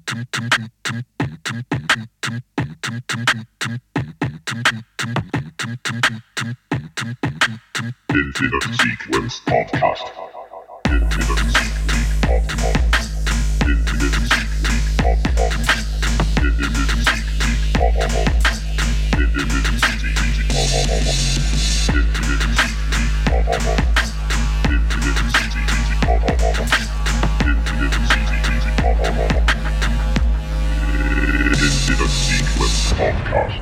Infinite Sequence Podcast. Infinite Sequence Podcast. Infinite Sequence Podcast. Infinite Sequence Podcast. Infinite Sequence Podcast. Infinite Sequence Podcast. Infinite Sequence Podcast. Infinite Sequence Podcast. Infinite Sequence Podcast.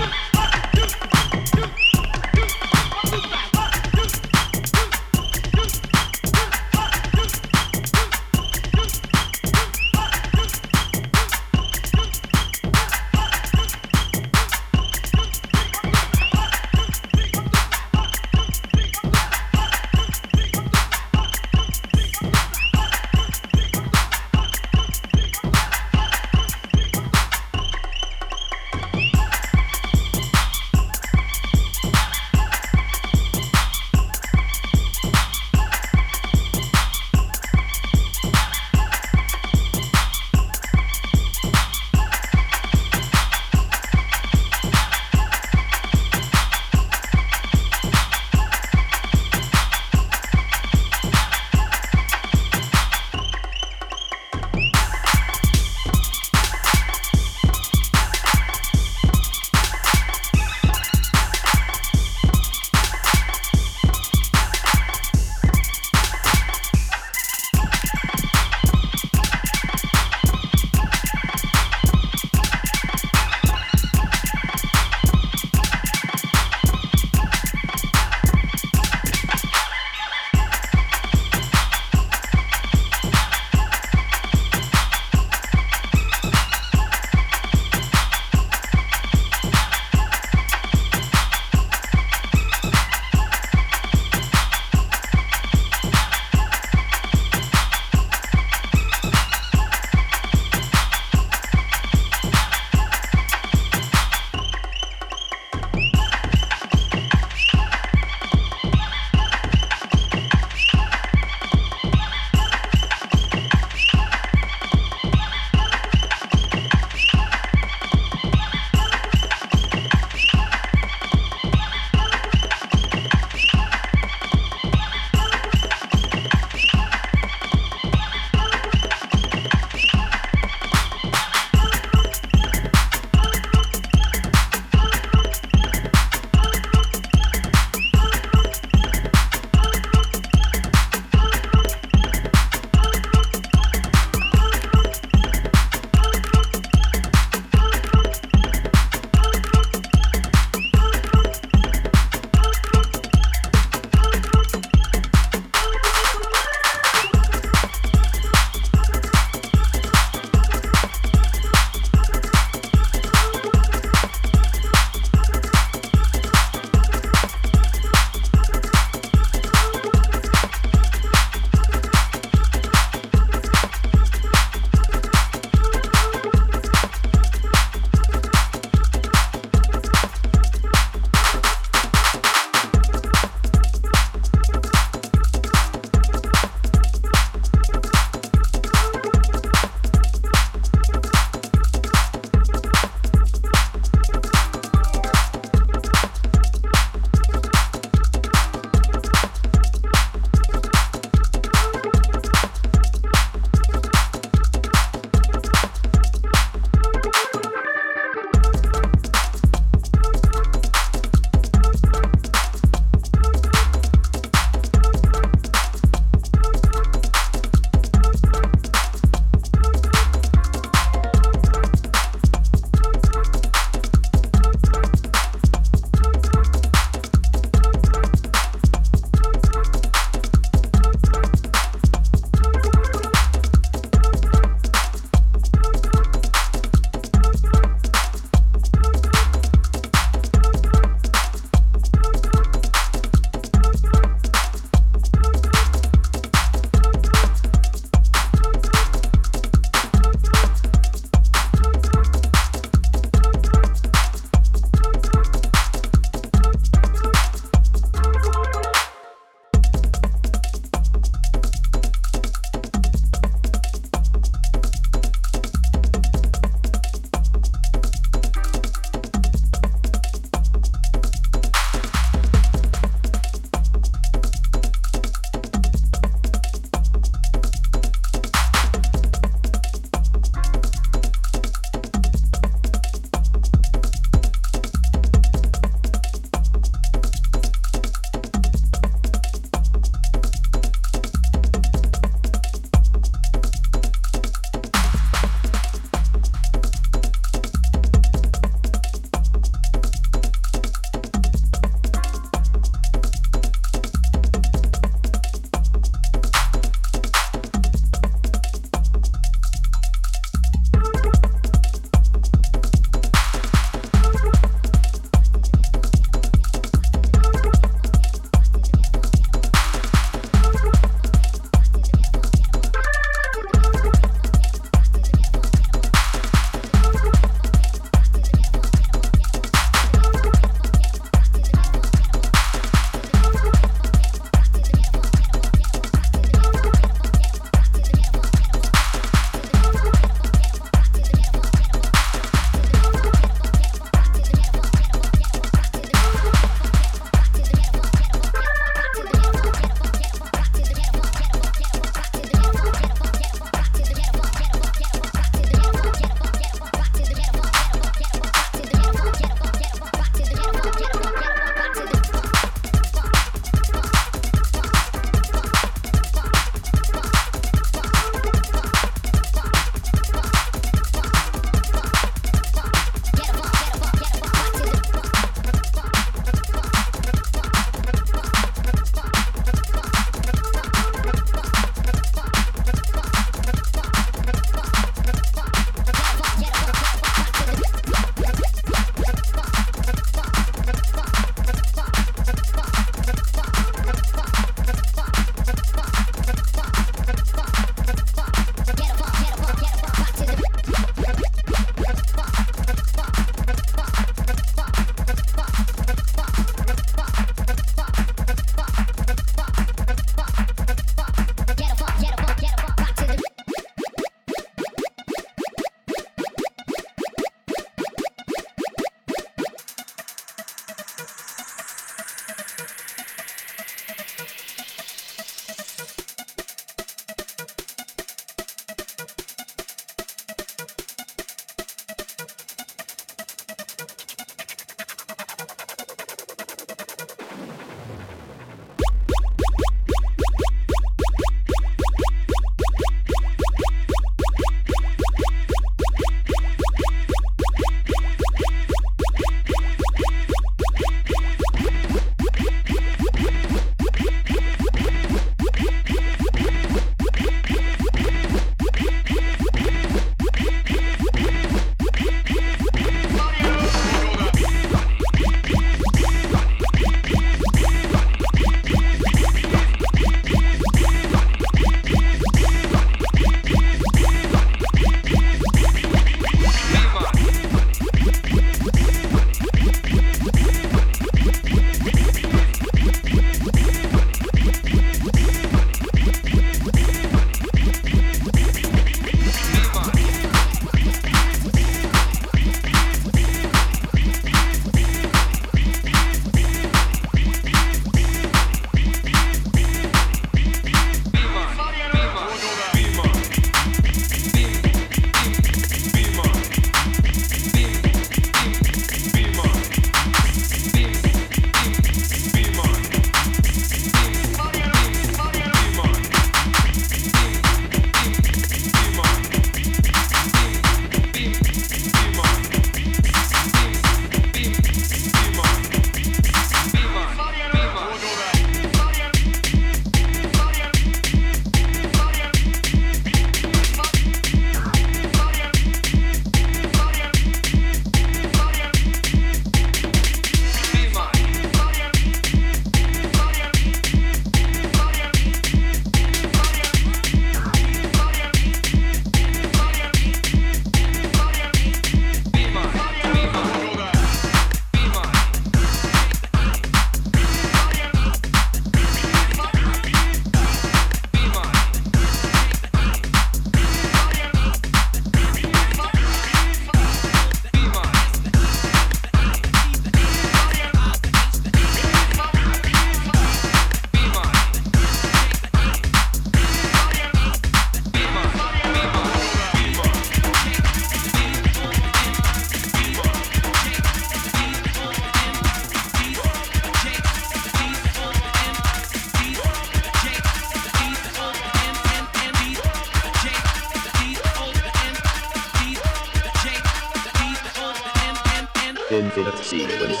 Infinite Sequence.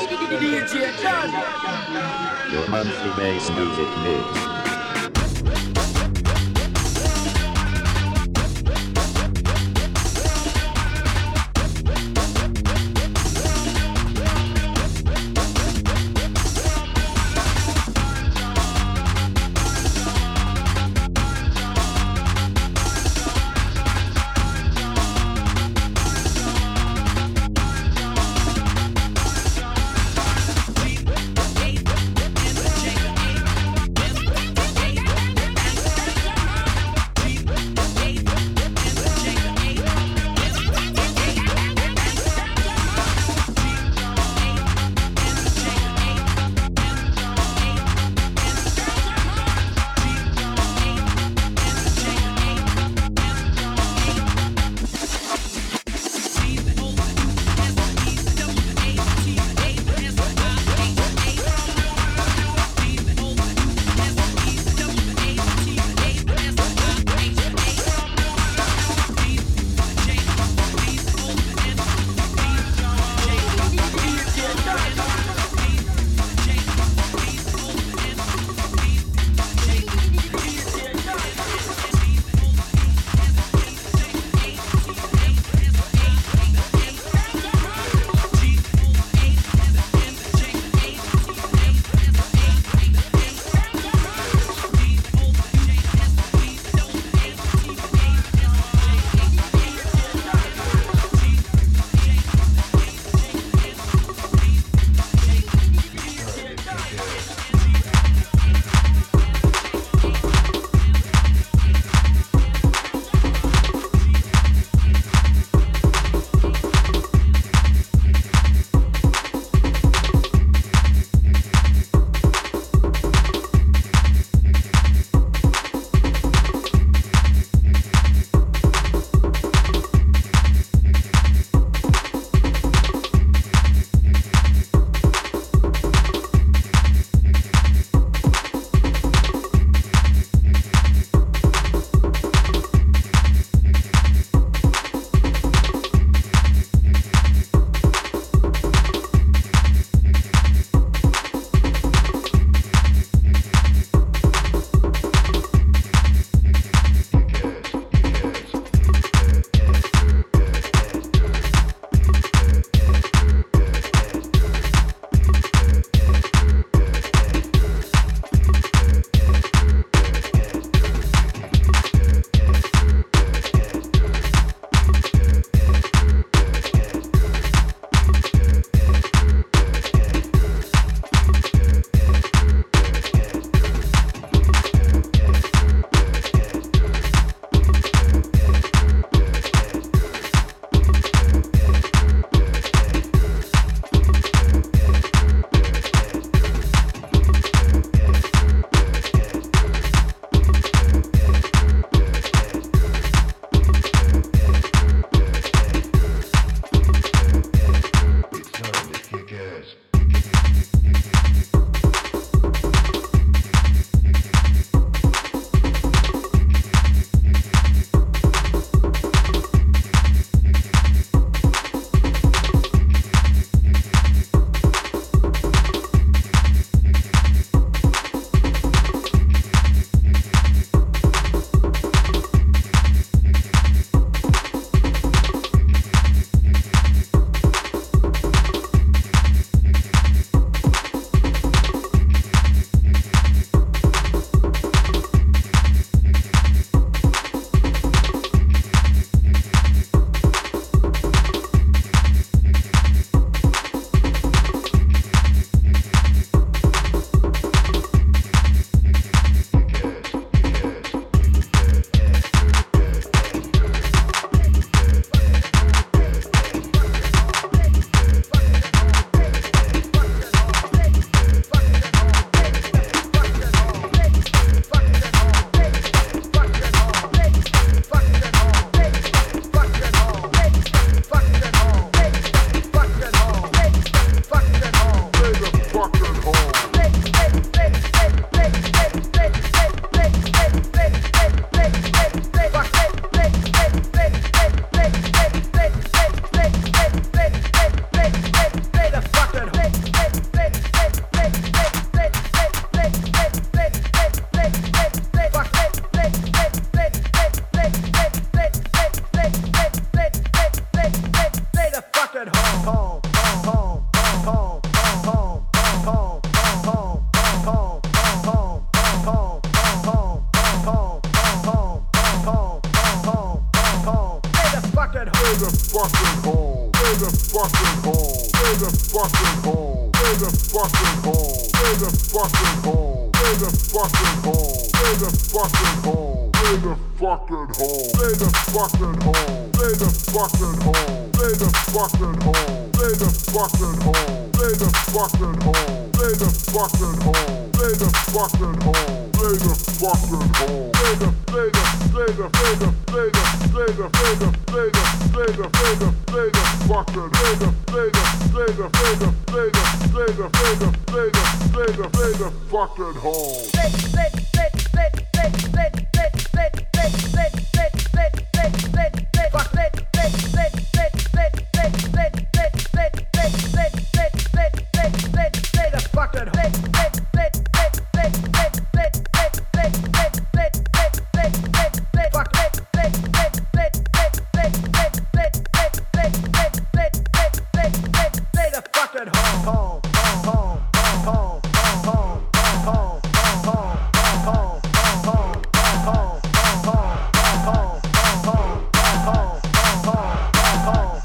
Your monthly bass music mix. home.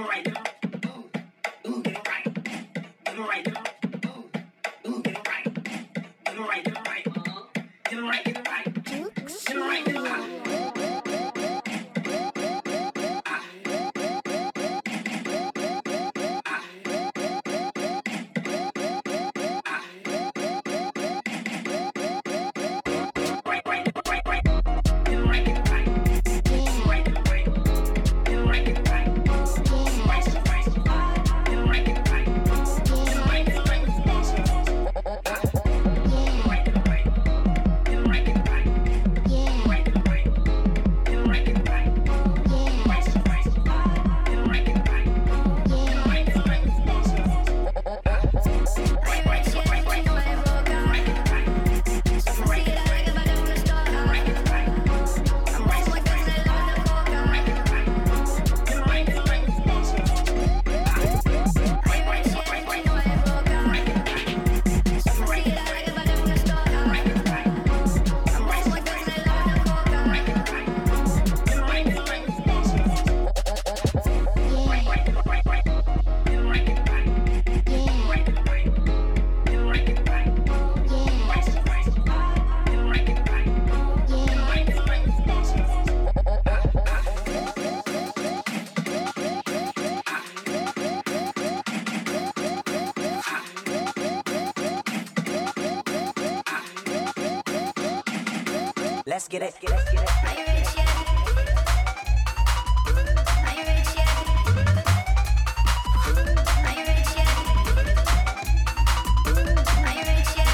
Let's get it. Are you ready yet? Are you ready yet? Are you ready yet? Are you ready yet?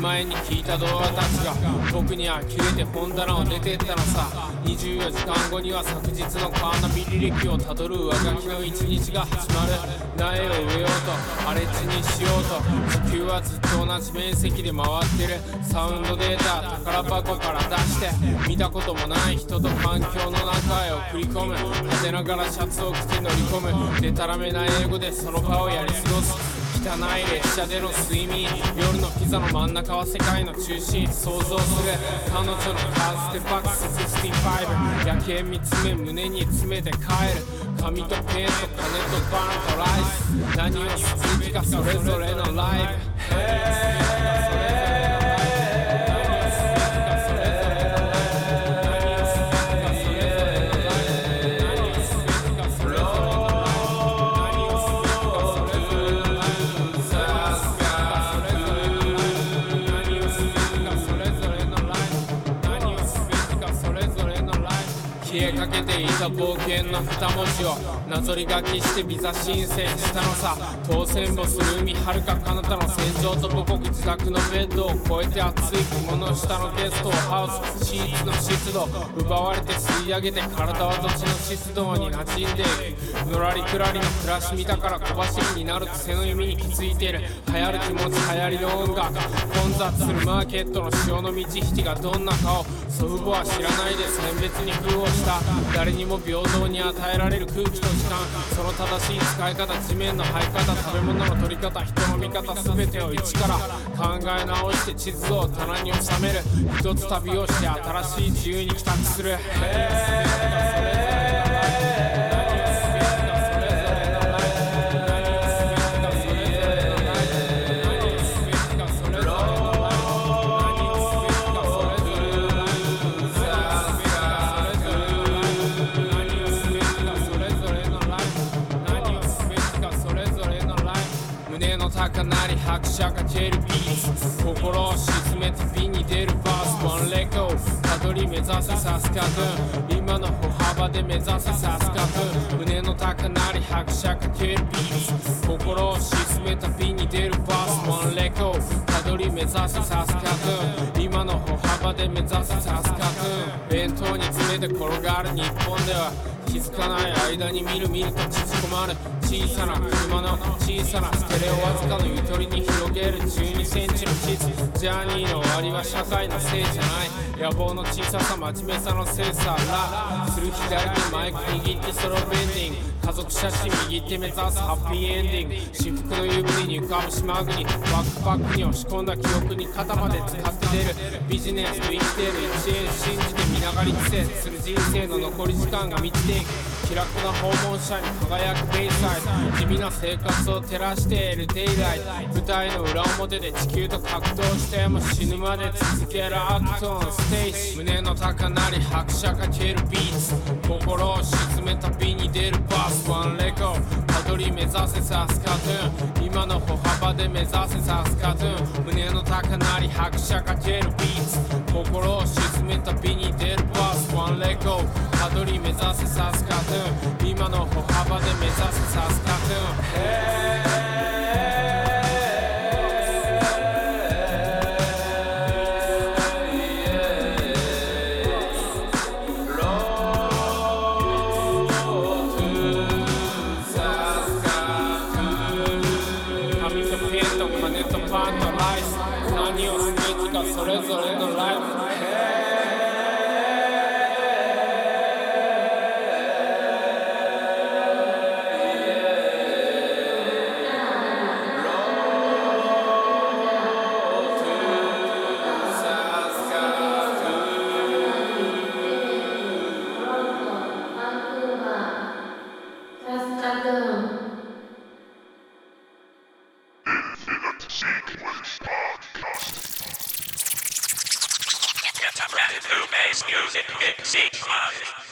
前に聞いた動画たちが僕に呆れて本棚を出てったのさ。24時間後には昨日のカーナビ履歴をたどる上書きの一日が始まる。苗を植えようと荒れ地にしようと地球はずっと同じ面積で回ってる。サウンドデータ宝箱から出して見たこともない人と環境の中へ送り込む。派手ながらシャツを着て乗り込む。でたらめな英語でその場をやり過ごす。汚い列車での睡眠、夜のピザの真ん中は世界の中心。想像する彼女のカーステバックス65。夜景見つめ胸に詰めて帰る。紙とペンと金とバンとライス。何をする気かそれぞれのライブ。消えかけていた冒険の2文字をなぞり書きしてビザ申請したのさ。当選簿する海遥か彼方の戦場と母国自宅のベッドを越えて熱い雲の下のゲストをハウスシーツの湿度奪われて吸い上げて体は土地の湿度に馴染んでいく。のらりくらりの暮らし見たから小走りになる癖の意味に気づいてる。流行る気持ち流行りの音楽混雑するマーケットの潮の満ち引きがどんなかを祖父母は知らないで選別に封をした。誰にも平等に与えられる空気と時間、その正しい使い方、地面の這い方、食べ物の取り方、人の見方、全てを一から考え直して地図を棚に収める。一つ旅をして新しい自由に帰宅する。胸の高鳴り拍車かけるビーツ、心を沈めて美に出るバース。ワンレコたどり目指せサスカトゥーン、今の歩幅で目指せサスカトゥーン。胸の高鳴り拍車かけるビーツ、心を沈めた美に出るバース。ワンレコたどり目指せサスカトゥーン、今の歩幅で目指せサスカトゥーン。弁当に詰めて転がる日本では気づかない間に見る見ると縮こまる。小さな車の小さなステレオわずかのゆとりに広げる12センチの地図。ジャーニーの終わりは社会のせいじゃない、野望の小ささ真面目さのせいさ。ラする左手マイク握ってソロベンディング、家族写真右手目指すハッピーエンディング。私服の湯船に浮かぶ島国、バックパックに押し込んだ記憶に肩まで使って出る。ビジネスと生きている1円信じて見ながり苦戦する人生の残り時間が満ちていく。気楽な訪問者に輝くベイサイド、地味な生活を照らしているデイライト。舞台の裏表で地球と格闘しても死ぬまで続けるアクトンステージ。胸の高鳴り拍車かけるビーツ、心を沈めた美に出るバース。ワンレコたどり目指せサスカトゥーン、今の歩幅で目指せサスカトゥーン。胸の高鳴り拍車かけるビーツ、心を沈めた美に出るバース。ワンレコたどり目指せサスカトゥーン、今の歩幅で目指せサスカトゥーン。金とパンとライス、何をすべきかそれぞれのライフ。 Who makes music? It's